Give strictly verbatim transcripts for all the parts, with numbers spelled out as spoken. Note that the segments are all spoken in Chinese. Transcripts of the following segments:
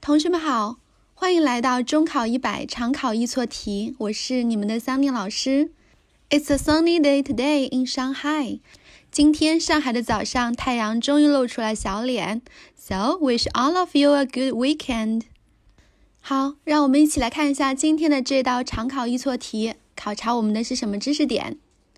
同学们好，欢迎来到中考一百常考易错题，我是你们的桑尼老师。It's a sunny day today in Shanghai. 今天上海的早上，太阳终于露出了小脸。So wish all of you a good weekend. 好，让我们一起来看一下今天的这道常考易错题，考察我们的是什么知识点？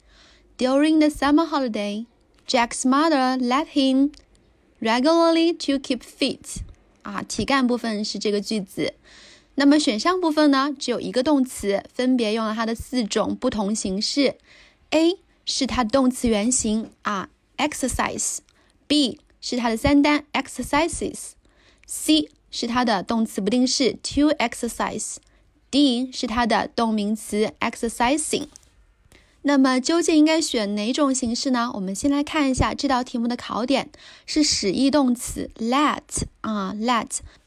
During the summer holiday, Jack's mother let him regularly to keep fit. 啊，题干部分是这个句子。那么选项部分呢，只有一个动词，分别用了它的四种不同形式。A 是它的动词原形啊 exercise， B 是它的三单 exercises， C 是它的动词不定式 to exercise， D 是它的动名词 exercising。那么究竟应该选哪种形式呢？我们先来看一下这道题目的考点是使役动词 let 啊 let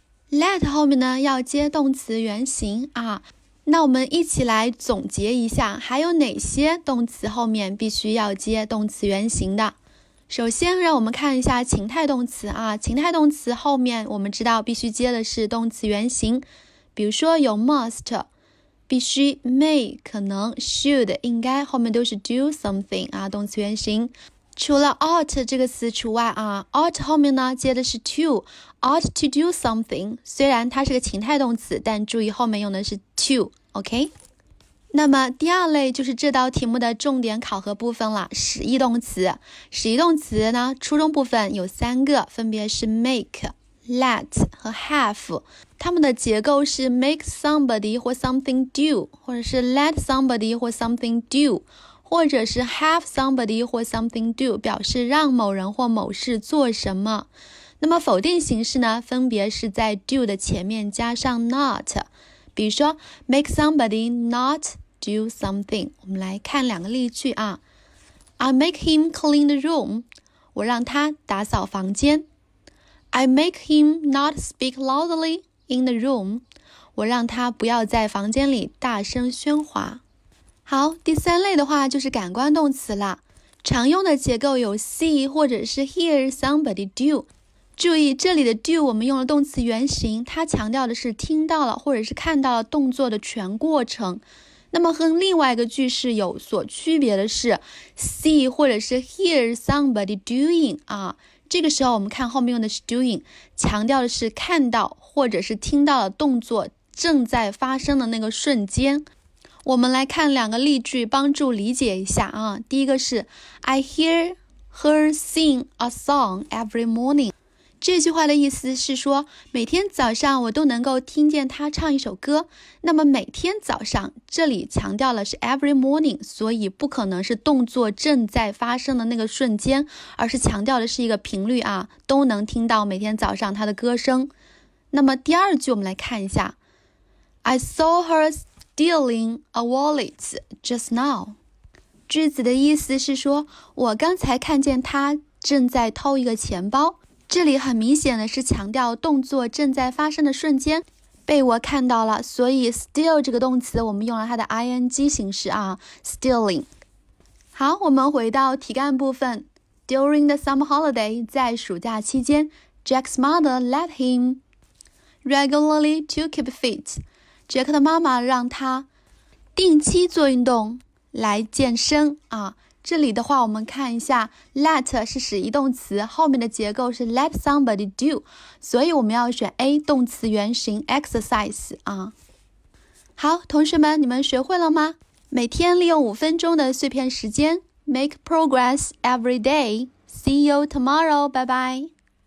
let 后面呢要接动词原形啊。那我们一起来总结一下，还有哪些动词后面必须要接动词原形的？首先让我们看一下情态动词啊，情态动词后面我们知道必须接的是动词原形，比如说有 must。必须 may 可能 should 应该后面都是 do something 啊，动词原形。除了 ought 这个词除外啊 ought 后面呢接的是 to ought to do something， 虽然它是个情态动词，但注意后面用的是 to OK。 那么第二类就是这道题目的重点考核部分了，使役动词。使役动词呢初中部分有三个，分别是 make let 和 have， 它们的结构是 make somebody 或 something do， 或者是 let somebody 或 something do， 或者是 have somebody 或 something do， 表示让某人或某事做什么。那么否定形式呢，分别是在 do 的前面加上 not， 比如说 make somebody not do something。 我们来看两个例句啊 I make him clean the room， 我让他打扫房间。I make him not speak loudly in the room， 我让他不要在房间里大声喧哗。好，第三类的话就是感官动词啦，常用的结构有 see 或者是 hear somebody do。 注意这里的 do 我们用了动词原形，它强调的是听到了或者是看到了动作的全过程。那么和另外一个句式有所区别的是 see 或者是 hear somebody doing 啊，这个时候我们看后面用的是 doing， 强调的是看到或者是听到的动作正在发生的那个瞬间。我们来看两个例句帮助理解一下啊。第一个是 I hear her sing a song every morning， 这句话的意思是说每天早上我都能够听见她唱一首歌。那么每天早上这里强调了是 every morning， 所以不可能是动作正在发生的那个瞬间，而是强调的是一个频率啊，都能听到每天早上她的歌声。那么第二句我们来看一下 I saw her stealing a wallet just now， 句子的意思是说我刚才看见她正在偷一个钱包。这里很明显的是强调动作正在发生的瞬间被我看到了，所以 steal 这个动词我们用了它的 ing 形式啊 stealing。 好，我们回到题干部分。 During the summer holiday， 在暑假期间 Jack's mother let him regularly to keep fit， 杰克的妈妈让他定期做运动来健身啊。这里的话我们看一下 let 是使役动词，后面的结构是 let somebody do， 所以我们要选 A 动词原形 exercise 啊。好，同学们你们学会了吗？每天利用五分钟的碎片时间 make progress every day。 See you tomorrow， 拜拜。